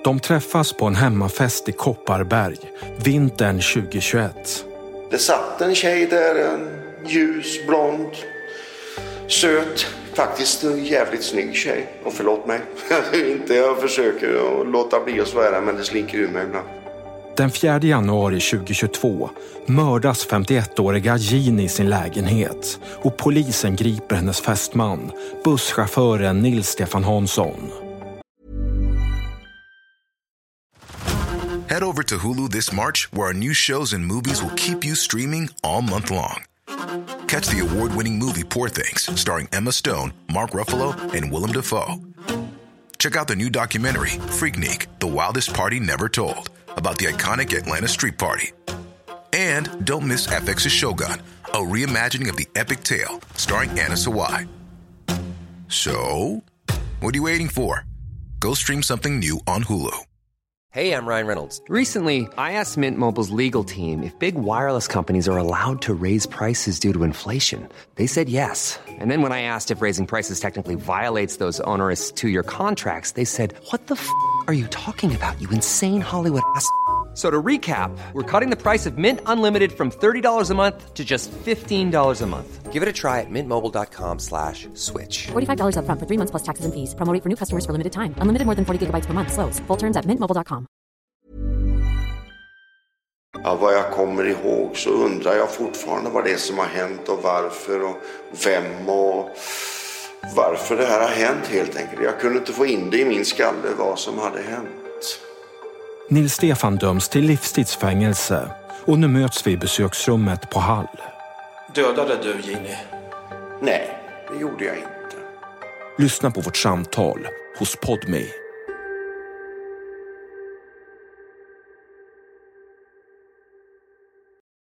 De träffas på en hemmafest i Kopparberg, vintern 2021. Det satt en tjej där, en ljus, blond, söt, faktiskt en jävligt snygg tjej. Och förlåt mig, jag försöker att låta bli att svära, men det slinker ur mig ibland. Den 4 januari 2022 mördas 51-åriga Jeanne i sin lägenhet och polisen griper hennes fästman, busschauffören Nils Stefan Hansson. Head over to Hulu this March, where our new shows and movies will keep you streaming all month long. Catch the award-winning movie Poor Things, starring Emma Stone, Mark Ruffalo, and Willem Dafoe. Check out the new documentary, Freaknik, The Wildest Party Never Told, about the iconic Atlanta Street Party. And don't miss FX's Shogun, a reimagining of the epic tale, starring Anna Sawai. So, what are you waiting for? Go stream something new on Hulu. Hey, I'm Ryan Reynolds. Recently, I asked Mint Mobile's legal team if big wireless companies are allowed to raise prices due to inflation. They said yes. And then when I asked if raising prices technically violates those onerous two-year contracts, they said, what the f*** are you talking about, you insane Hollywood ass f- So to recap, we're cutting the price of Mint Unlimited from $30 a month to just $15 a month. Give it a try at mintmobile.com/switch. $45 up front for 3 months plus taxes and fees. Promo rate for new customers for limited time. Unlimited more than 40 gigabytes per month. Slows full terms at mintmobile.com. Ja, vad jag kommer ihåg så undrar jag fortfarande vad det är som har hänt och varför och vem och varför det här har hänt helt enkelt. Jag kunde inte få in det i min skalle vad som hade hänt. Nils Stefan döms till livstidsfängelse och nu möts vi i besöksrummet på Hall. Dödade du Jeanne? Nej, det gjorde jag inte. Lyssna på vårt samtal hos Podme.